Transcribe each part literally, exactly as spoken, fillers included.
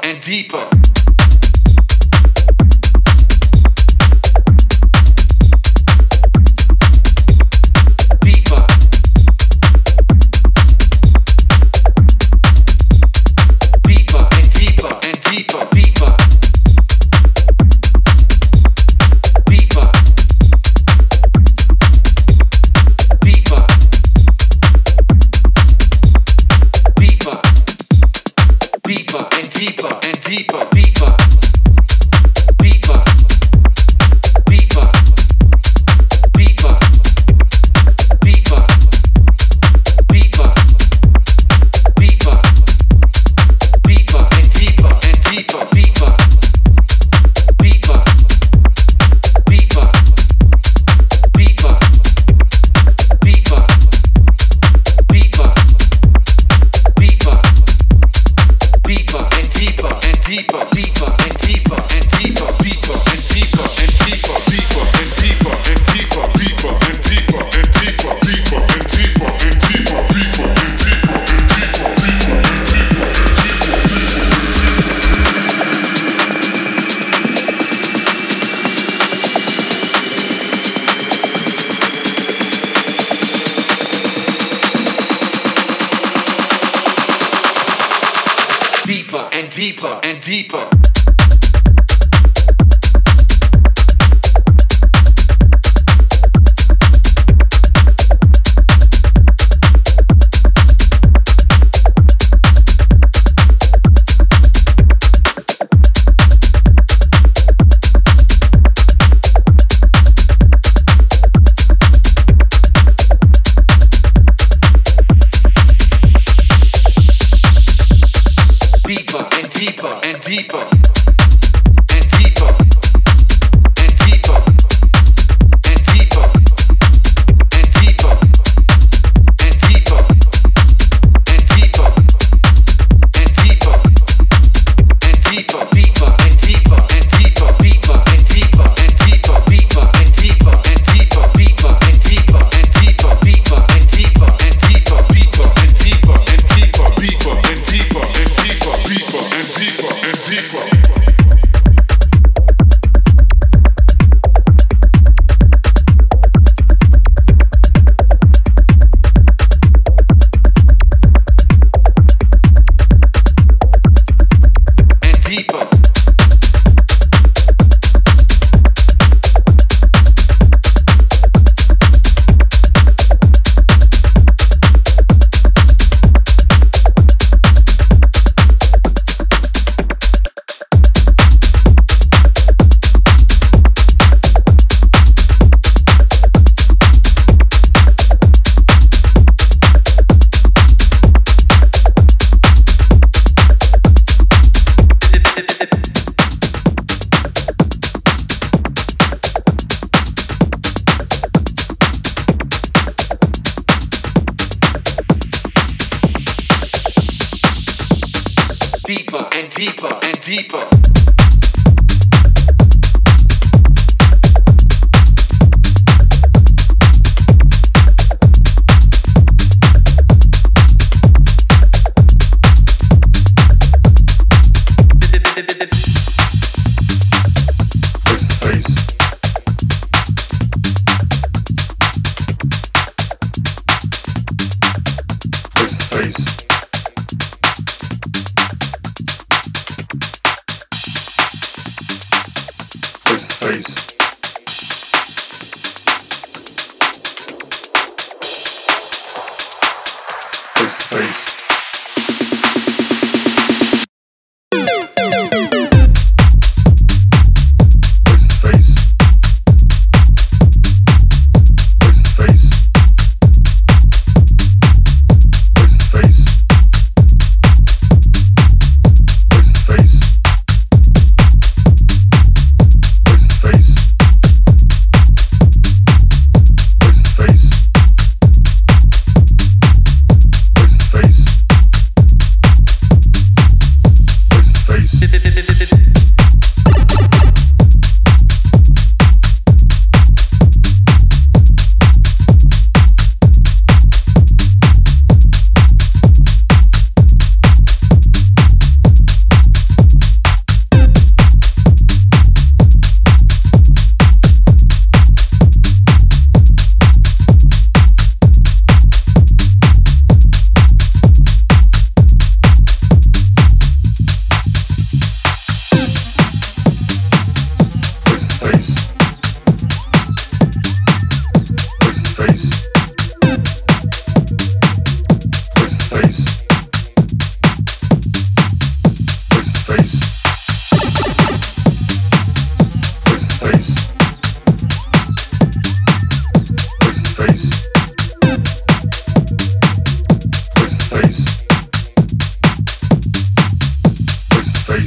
and deeper. Deeper and deeper. Deeper and deeper and deeper. Face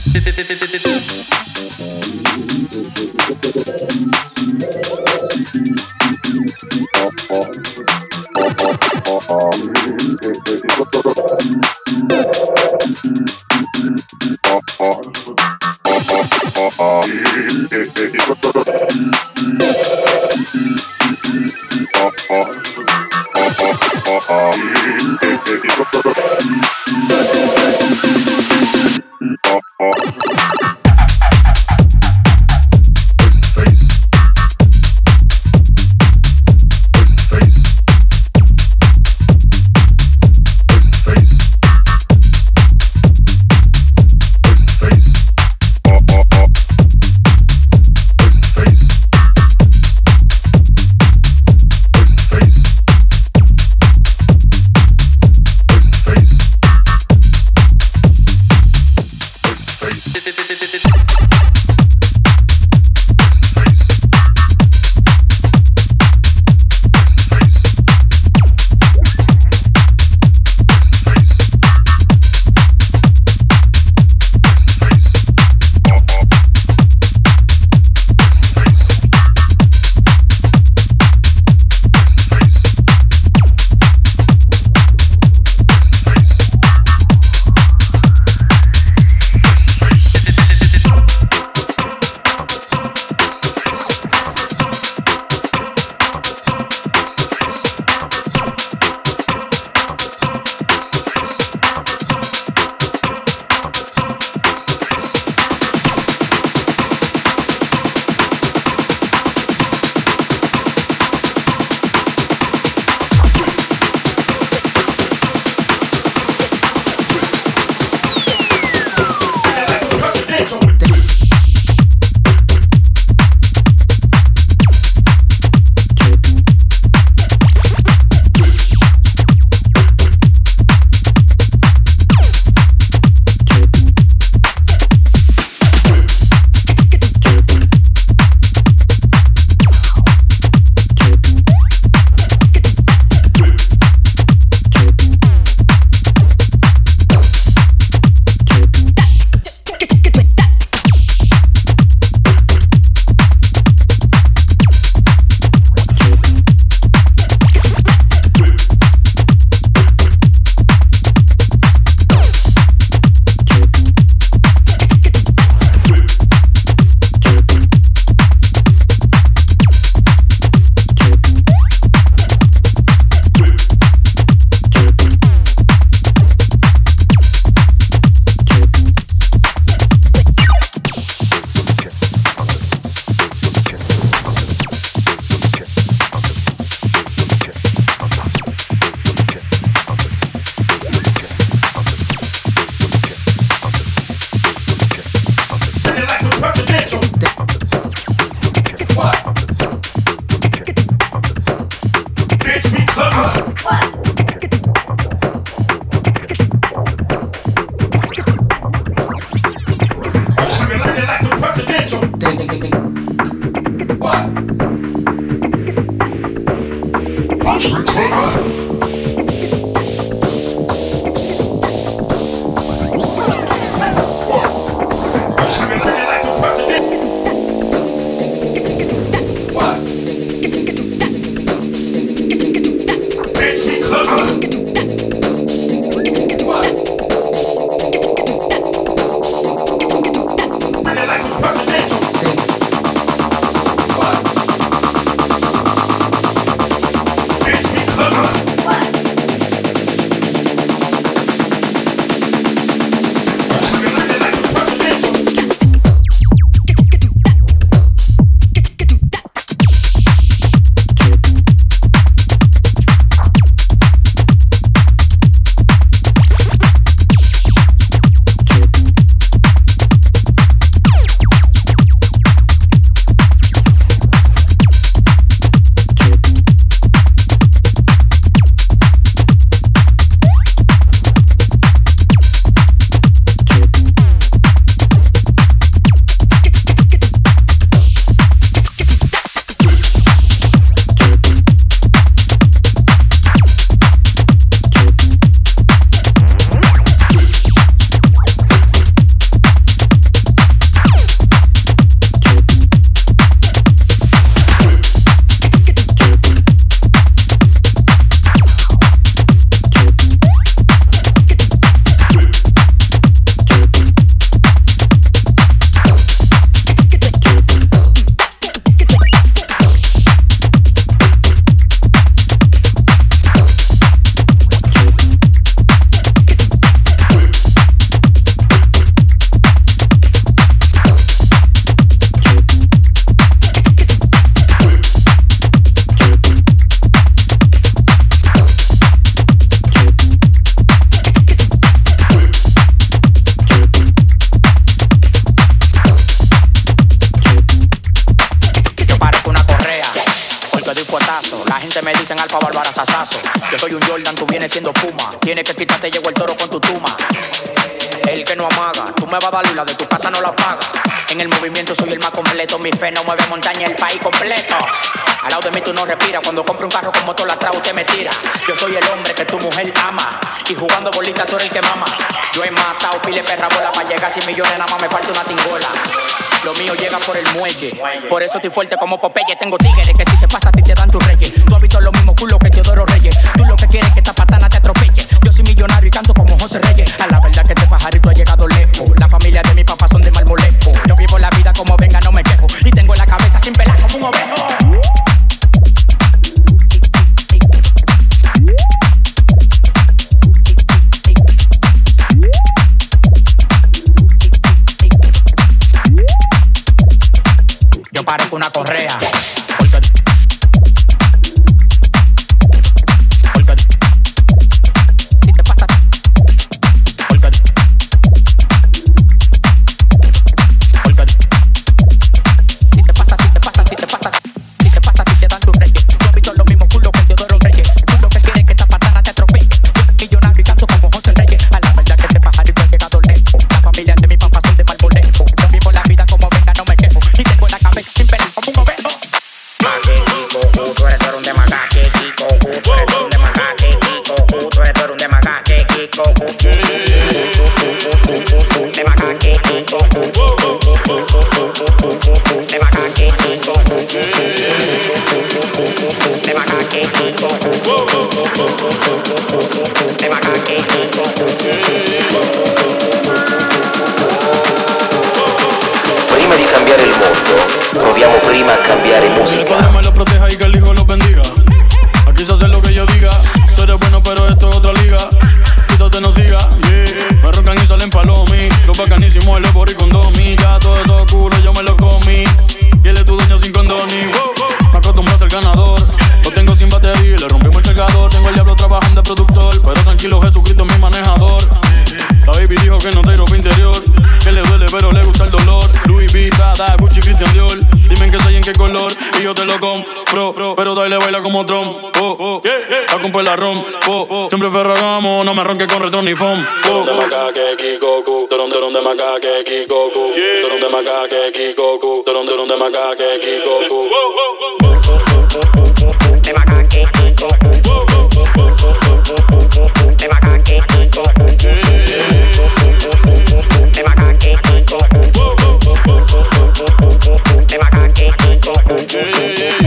What? gente me dicen Alfa Bárbara Sasazo. Yo soy un Jordan, tú vienes siendo Puma. Tienes que quitarte, llegó el toro con tu tuma. El que no amaga, tú me vas a dar y la de tu casa no la pagas. En el movimiento soy el más completo, mi fe no mueve montaña, el país completo. Al lado de mí tú no respiras, cuando compro un carro con motor atrás usted me tira. Yo soy el hombre que tu mujer ama, y jugando bolita tú eres el que mama. Yo he matado pile perra bola para llegar a cien millones, nada más me falta una tingola. Lo mío llega por el muelle, por eso estoy fuerte como Popeye. Tengo tigres que si te pasa a ti te dan tus reyes. Tú has visto los mismos culos que Teodoro Reyes. Tú lo que quieres es que esta patana te atropelle. Yo soy millonario y canto como José Reyes. A la verdad que este pajarito ha llegado lejos. La familia de mi papá son de Marmolejo. Yo vivo la vida como venga, no me quejo. Y tengo la cabeza sin pelar como un ovejo. Yo parezco una correa. Porque, porque si te pasa, porque, porque si te pasa, si te pasa, si te pasa, si te pasa, si te dan tus reyes. Yo he visto los mismos culos que Teodoro Reyes. Tú lo que quieres es que esta patana te atropelle. Yo soy millonario y canto como José Reyes. A la verdad que este pajarito ha llegado lejos. La familia de mi papá son de Marmolejo. Yo vivo la vida como venga, no me quejo. Y tengo la cabeza sin pelar como un ovejo. Tú eres un de macaque, Kiko. Tú eres un de macaque, Kiko. Tú eres un de macaque, Kiko. De macaque, Kiko. De macaque, Kiko. De macaque, Kiko. De macaque, Kiko. Prima di cambiare il mondo, proviamo prima a cambiare musica. Que Dios me lo proteja y que el Hijo los bendiga. Aquí se hace lo que yo diga. Tú eres bueno, pero esto es otra liga. Quítate, no siga, yeah. Me roncan y salen palomi. Los bacanísimos, el Ebor y condomi. Ya todo eso culo yo me lo comí. Y él es tu dueño sin condoni. Me acostumbro a ser ganador. Lo tengo sin batería y le rompimos el cargador. Tengo el diablo trabajando de productor. Pero tranquilo, Jesucristo es mi manejador. La baby dijo que no te ropa interior. Que le duele pero le gusta el dolor. Louis V, Prada, Gucci, Christian Dior. Dime que soy en qué color y yo te lo compro. Pero dale baila como Trump. Oh, oh, a comprar la rom. Oh, oh. Siempre ferragamo, no me ronque con retro ni foam. Oh, de macaque, Kikoku. Teron, teron de macaque, Kikoku. Teron de macaque, Kikoku. Teron, teron de macaque, Kikoku. De macaque, Kikoku. De macaque, Kikoku. De macaque, Kikoku. De macaque, Kikoku.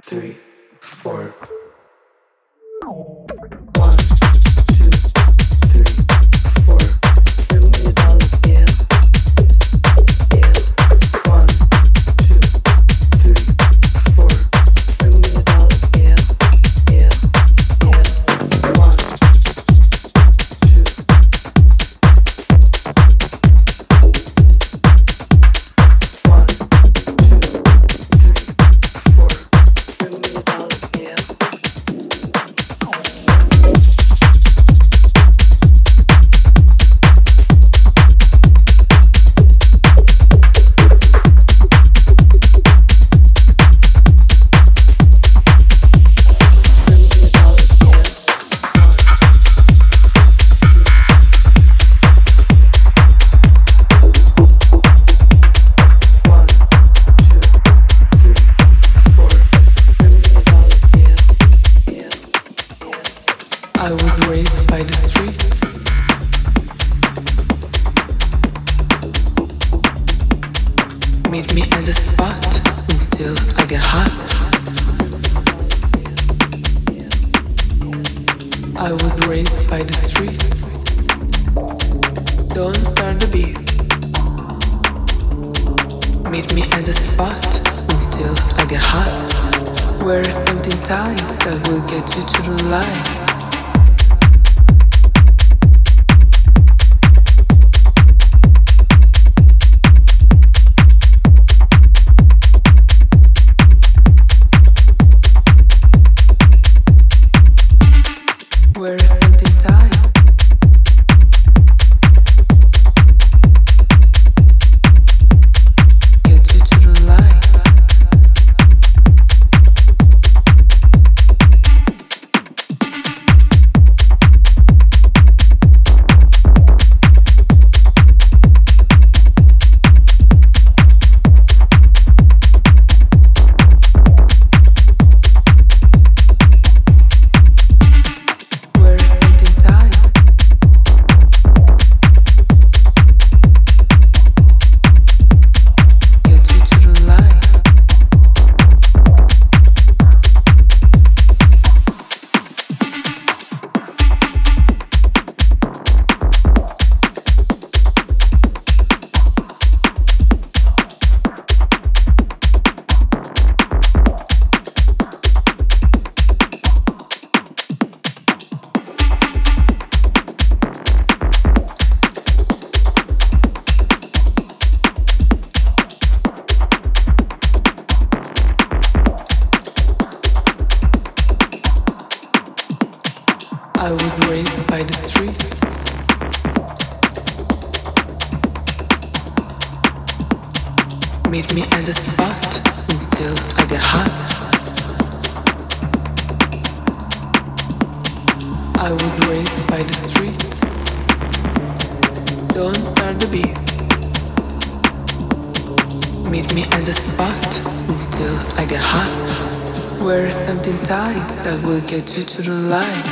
Get you to the light.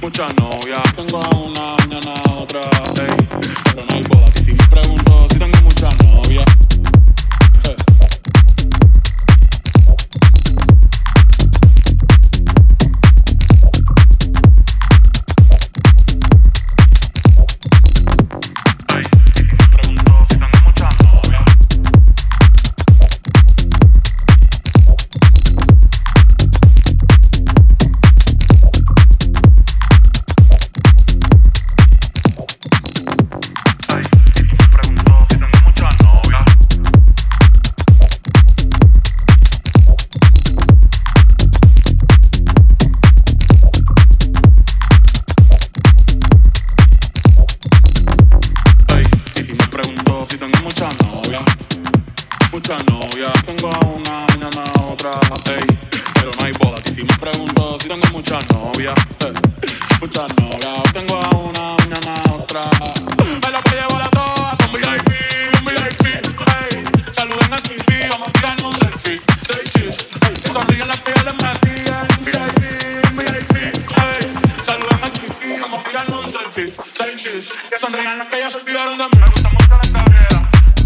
muchas novias. Tengo a una, mañana a otra, ey. Pero no hay boda, Titi me pregunto si tengo muchas novias. Eh. Muchas novias, tengo a una, mañana a otra, ey. Pero no hay boda, Titi me pregunto si tengo muchas novias, ey. Muchas novias, tengo a una, mañana a otra. Me la voy a llevar a todas con V I P, un V I P, ey. Saluden a Titi, vamos a tirarnos un selfie, say cheese, ey. Sonríen las que ya les metí, un V I P, un V I P, ey. Saluden a Titi, vamos a tirarnos un selfie, say cheese. Que sonrían las que ya se olvidaron de mí. Me gusta mucho la carrera.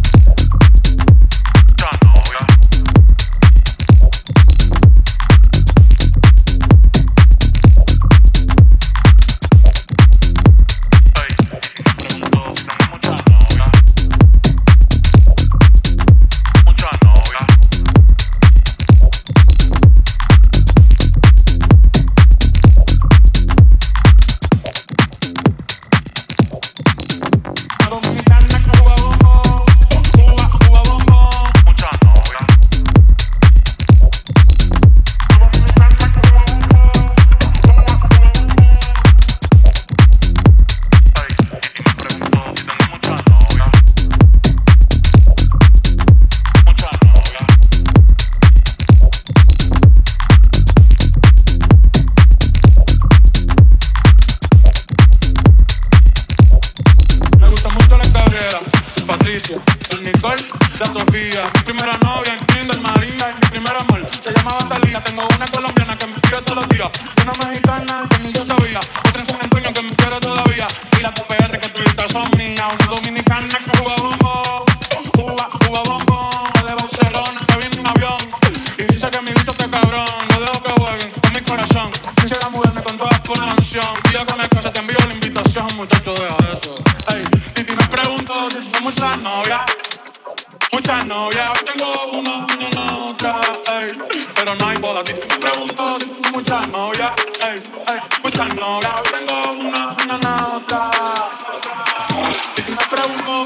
La Sofía, mi primera novia en Kinder María y mi primer amor se llamaba Talía. Tengo una colombiana que me escribe todos los días, una mexicana que ni yo sabía, otra en San Antonio que me quiere todavía, y las dos P R que tuviste son mías, una dominicana que juega bombo, juega, juega bombo, de Barcelona que viene un avión y dice que mi bicho está cabrón, no dejo que jueguen con mi corazón, quisiera mudarme con todas por mansión, y ya con el que se te envío la invitación, muchacho, deja eso. Ey, Titi me pregunto si tengo muchas novias. Muchas novias, tengo una, mañana otra, ey. Pero no hay boda, Titi me pregunto si tengo muchas novias, ey, ey. Muchas novias, tengo una, mañana otra. Titi me pregunto,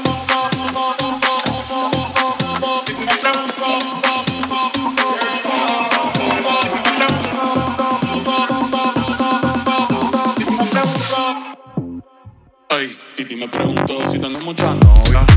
Titi me pregunto, Titi me pregunto, ey. Titi me pregunto si tengo muchas novias.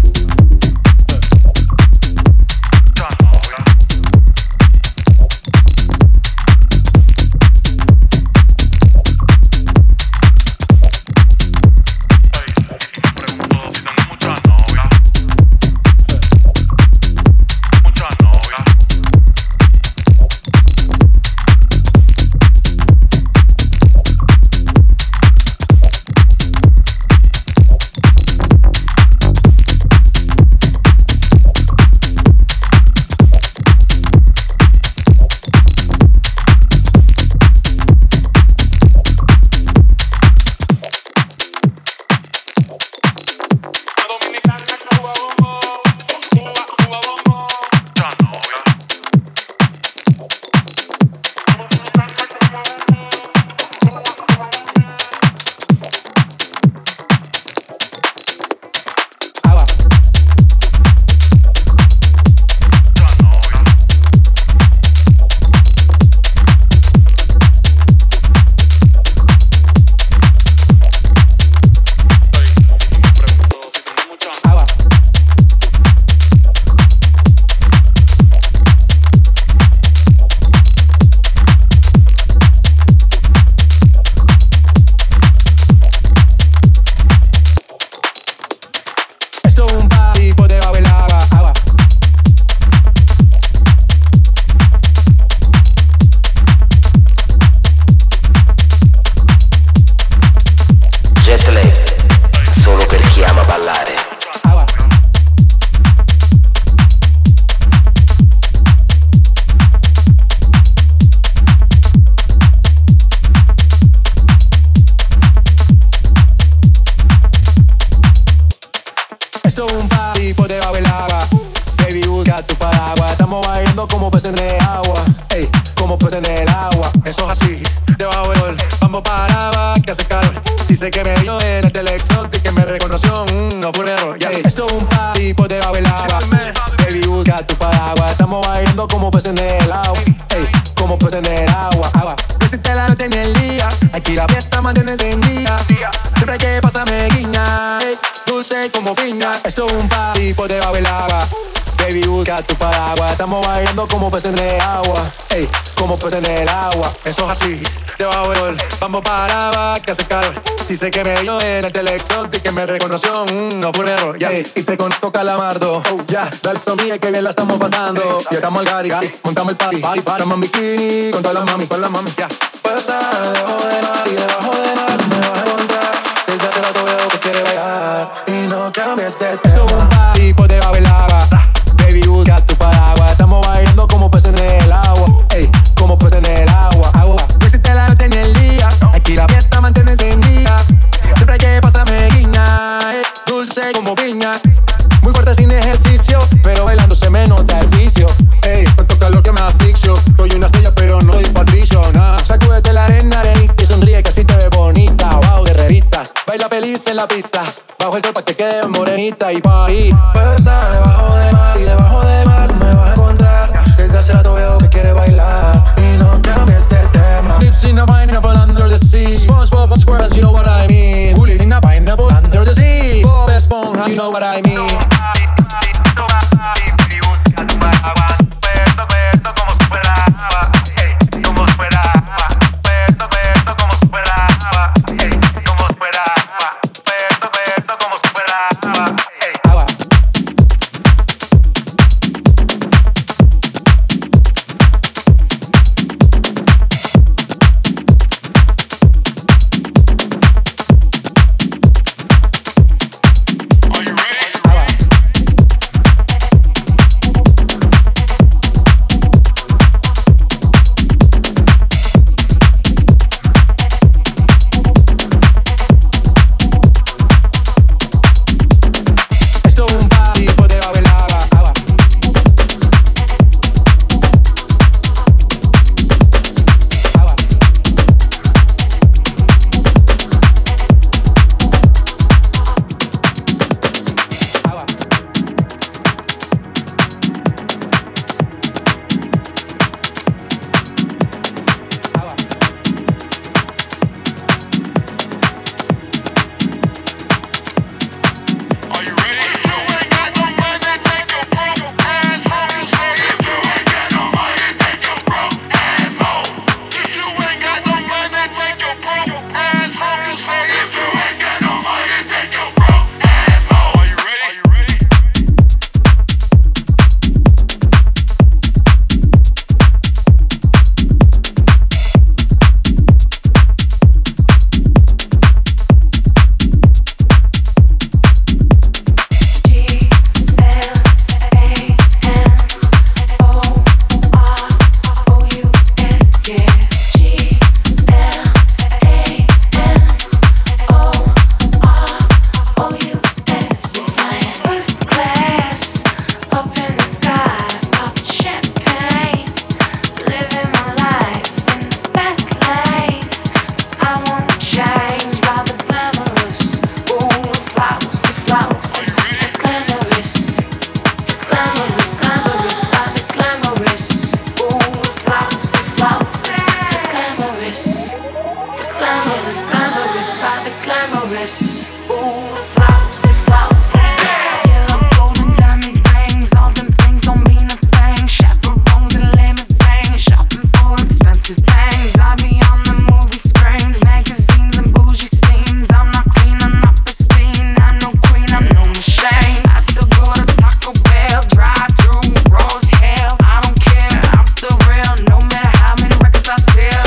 Esto es un party por debajo del agua. Baby, busca tu paraguas. Estamos bailando como peces en el agua. Ey, como peces en el agua. Eso es así, debajo del sol. Vamos para abajo, que hace calor. Dice que me vio en el teleexot y que me reconoció. Mm, no fue un error. Yeah. Esto es un party por debajo del agua. Baby, busca tu paraguas. Estamos bailando como peces en el agua. Ey, como peces en el agua. Agua. Vestiste la noche en el día. Aquí la fiesta mantiene encendida. Siempre que pasa me guiña. Ey, dulce como piña. Esto es un party por debajo del agua. Baby, busca tu paraguas. Estamos bailando como peces en el agua. Ey, como peces en el agua. Eso es así, debajo del sol. Vamos para abajo, que hace calor. Dice que me vio en el teleexot y que me reconoció. Mm, no fue un error. Yeah. Ey, y te conozco calamardo. Oh, ya, yeah. Dale sonríe que bien la estamos pasando. Ya estamos al gari, montamos el party. Party, party, estamos en bikini con todas las mami, con las mami. Ya. Yeah. Pasar debajo del mar y debajo del mar me vas a encontrar. Desde hace rato veo que quiere bailar y no cambies de tema. Esto es un party por debajo del agua. Baby, busca tu paraguas. Estamos bailando como peces en el agua. Ey, como peces en el agua. Agua. Vestiste la noche en el día. Aquí la fiesta mantiene encendida. Siempre que pasa me guiña. Ey, dulce como piña. Muy fuerte sin ejercicio, pero bailando se me nota el vicio. Ey, tanto calor que me asfixio. Soy una estrella pero no soy patricio, nah. Sacúdete la arena, arenita y sonríe que así te ves bonita. Wow, guerrerita. Baila feliz en la pista. Bajo el sol pa' que quede morenita y party. Pasar debajo del mar y debajo del mar me vas a encontrar. Desde hace rato veo que quiere bailar y no cambies de tema. Lips in a pineapple under the sea. SpongeBob SquarePants, you know what I mean. Bully in a pineapple under the sea. Bob Esponja, you know what I mean.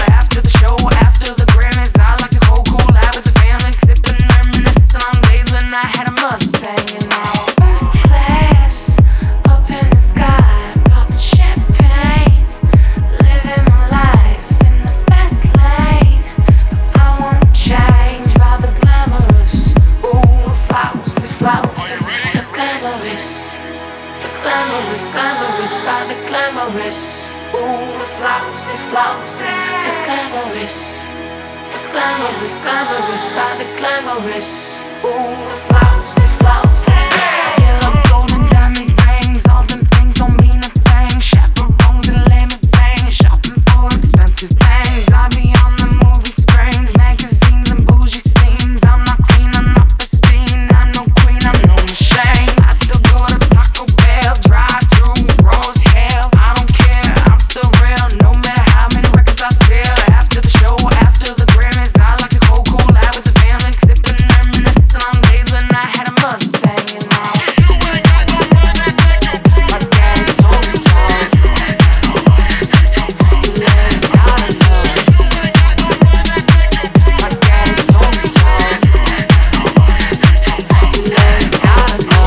After the Grammys, I like to go cool out with the family, sipping, reminiscing on days when glamorous. Ooh, the flousy, flousy, the glamorous. The glamorous, glamorous, by the glamorous. Ooh, the flousy, flousy. Yellow, golden, diamond rings, all them things don't mean a thing. Chaperones and limousines, shopping for expensive things. I be on the movie screens, magazines and bougie scenes. I'm not clean, I'm not pristine, I'm no queen, I'm no machine. I still go to Taco Bell, drive through Rose Hill. I don't care, I'm still real, no matter how many records I sell. After the show, after the Grammys, I like to go cool out with the family, sipping, reminiscing on days when I had a Mustang, you know. My daddy told me so. You ladies gotta know. My daddy told me so. You ladies gotta know.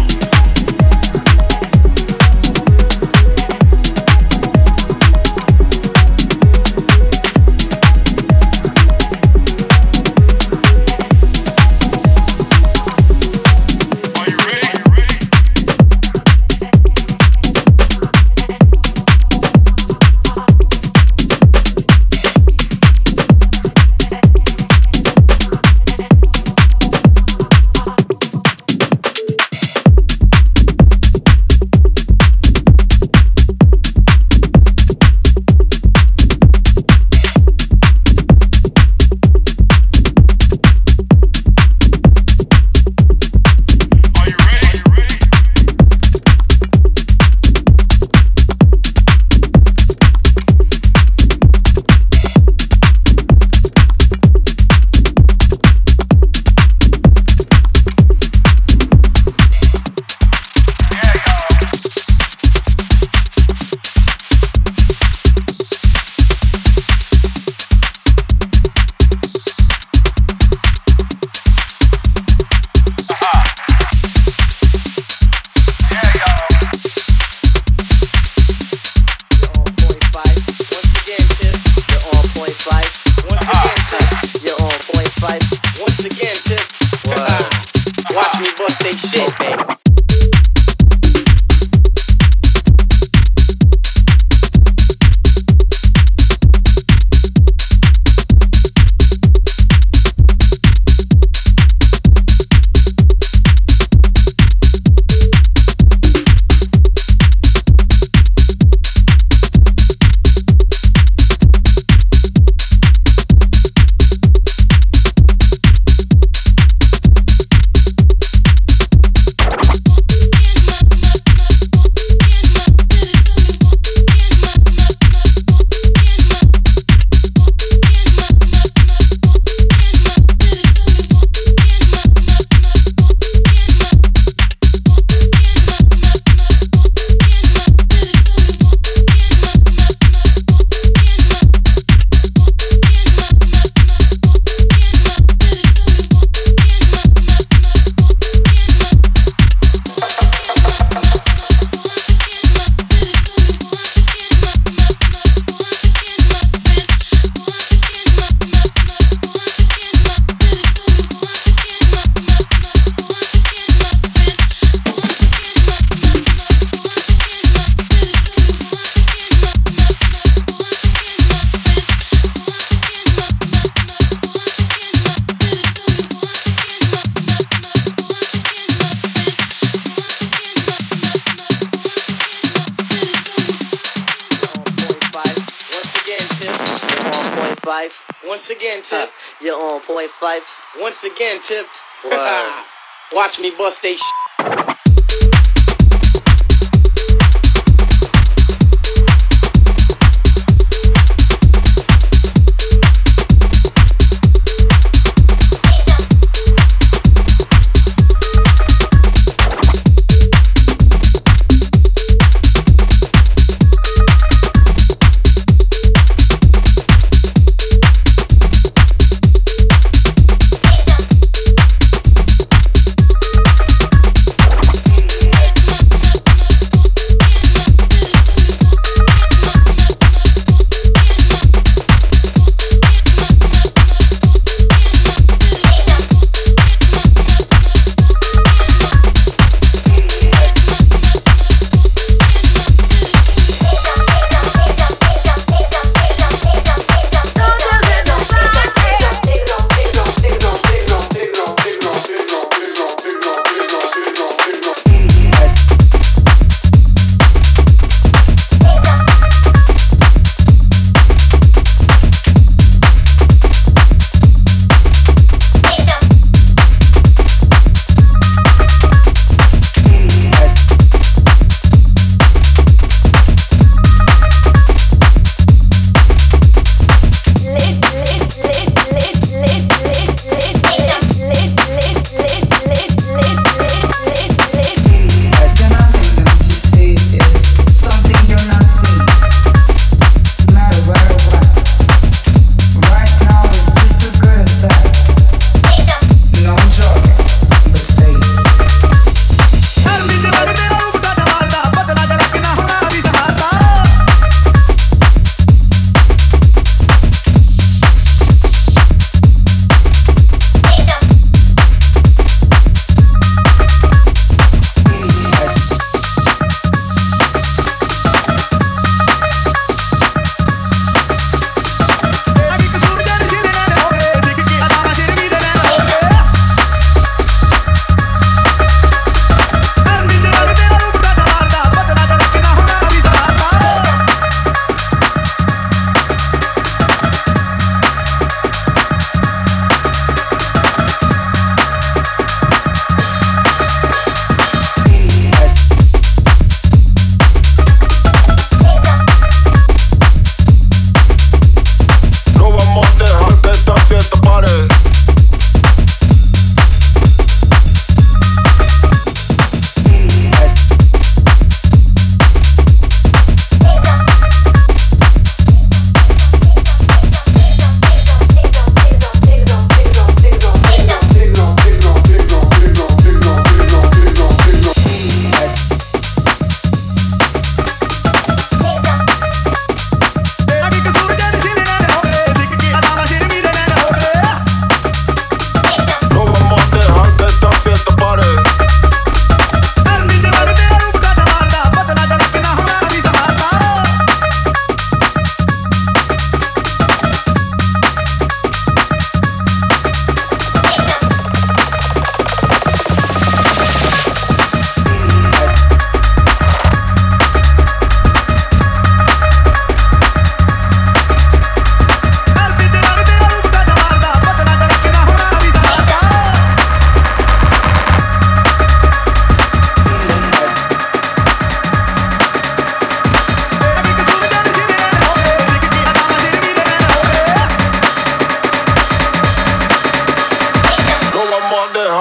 Once again, Tip. You're on point five. Once again, Tip. Watch me bust they shit.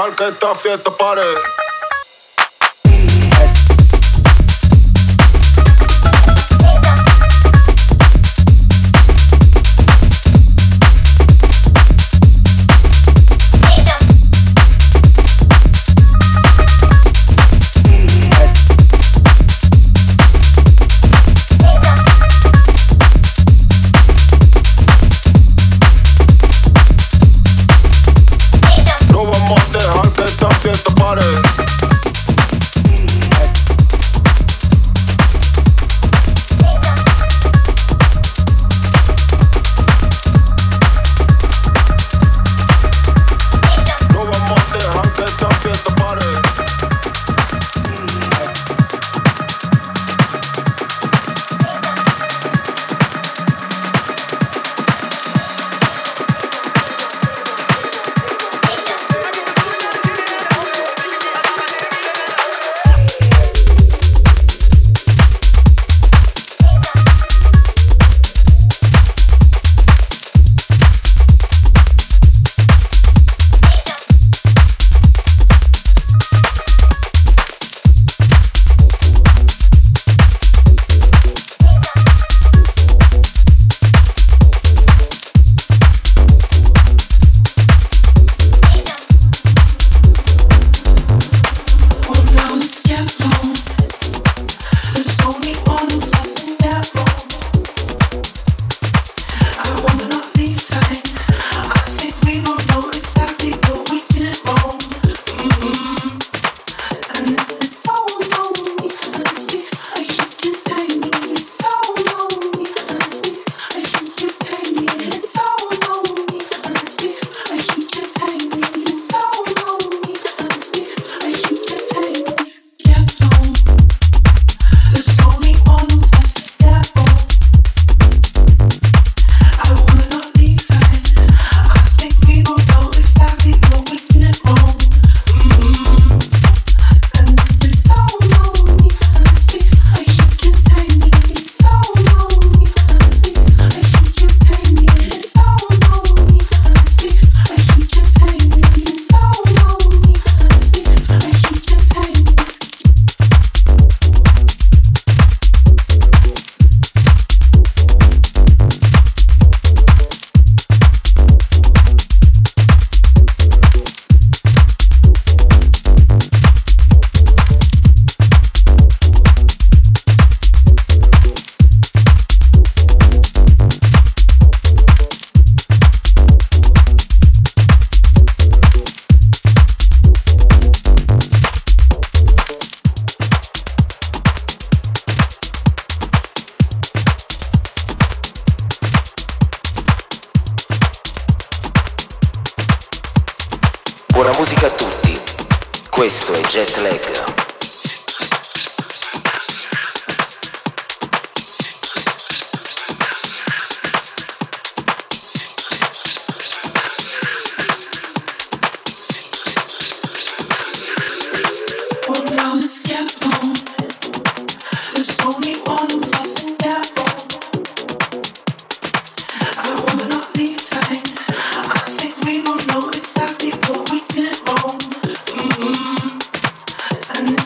dejar que esta fiesta pare. Buona musica a tutti, questo è Jet Lag. And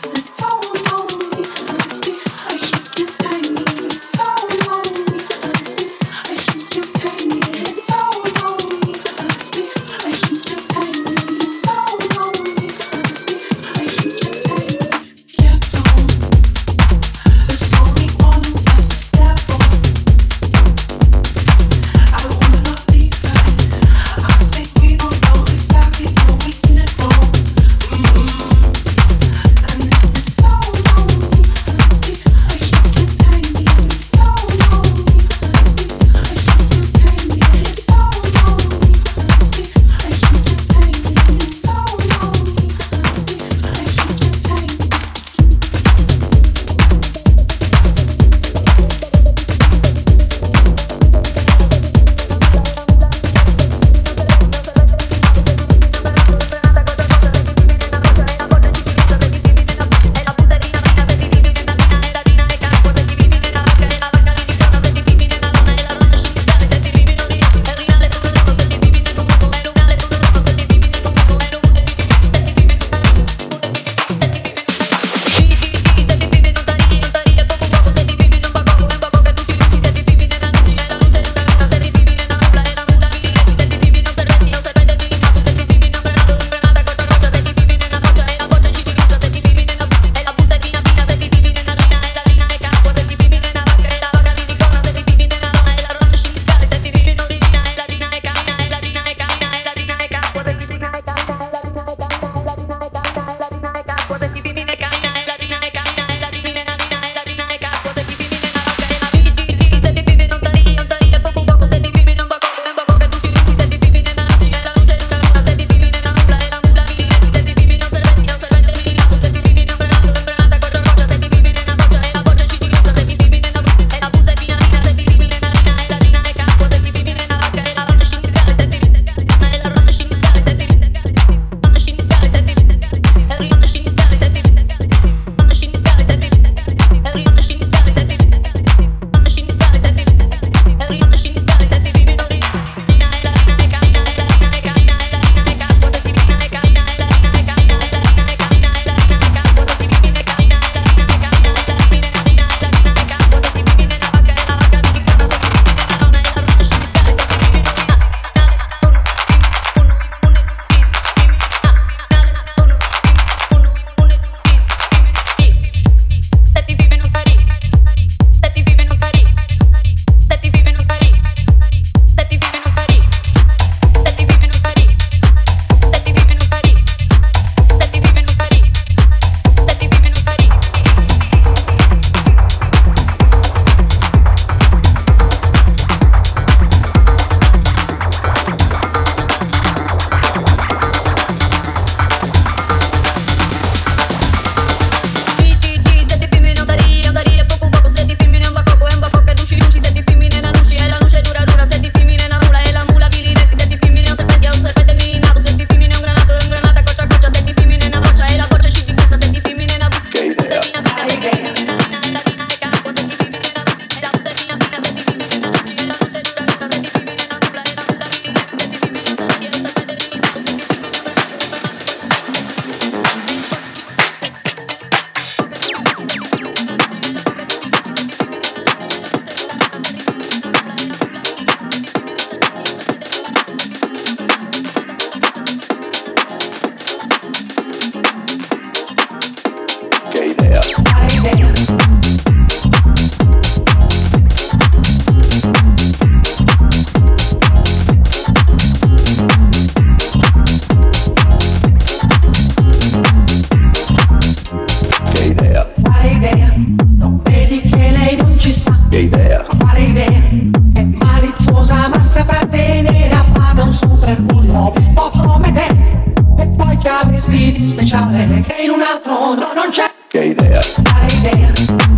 Speciale che in un altro no, non c'è. Che idea. Quale idea?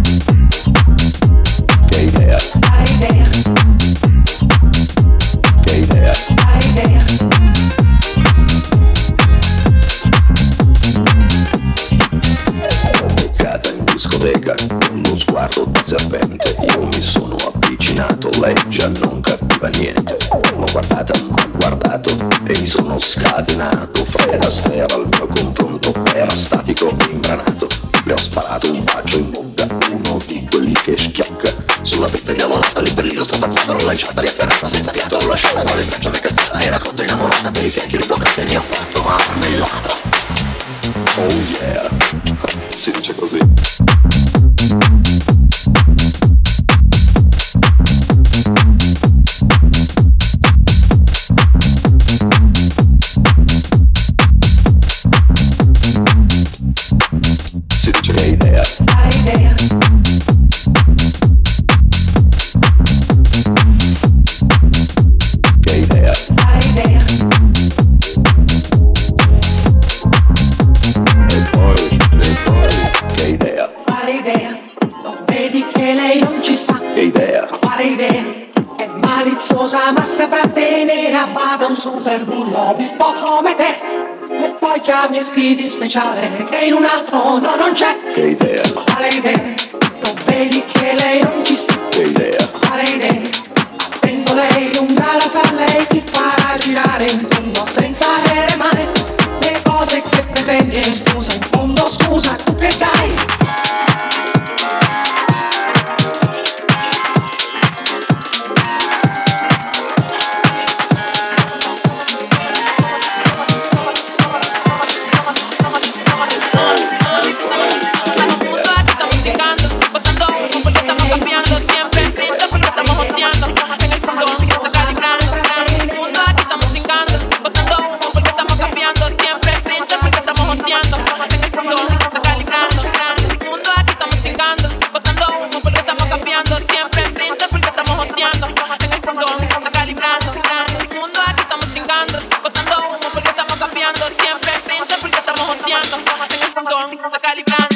Che idea. Quale idea? Che idea. Quale idea? Beccata in discoteca, uno sguardo di serpente. Io mi sono avvicinato, lei già non capiva niente. L'ho guardata, m'ha guardato e mi sono scatenato. Fredda sfera al mio confronto, era statico imbranato. Le ho sparato un bacio in bocca, uno di quelli che schiocca. Sulla pista diavolata, lì per lì l'ho strapazzata, l'ho lanciata, riafferrata, senza fiato, l'ho lasciata, con le braccia mi è cascata, era cotta innamorata, per i fianchi ribloccati e mi ha fatto marmellata. Oh yeah, si dice così. Si dice che idea. Quale idea? Che idea. Quale idea? E poi, e poi, che idea. Quale idea? Non vedi che lei non ci sta? Che idea. Quale idea? È maliziosa ma saprà tenere a bada un super bullo un po' come te. E poi che ha vestiti speciali che in un altro no, non c'è. Che idea. Quale idea? Non vedi che lei non ci sta? Che idea. Quale idea? Tengo lei un galas a lei ti farà girare in fondo senza avere mai le cose che pretendi. E scusa, in fondo scusa, tu che dai? Siempre, siempre porque estamos joseando en el frontón, se calibrando.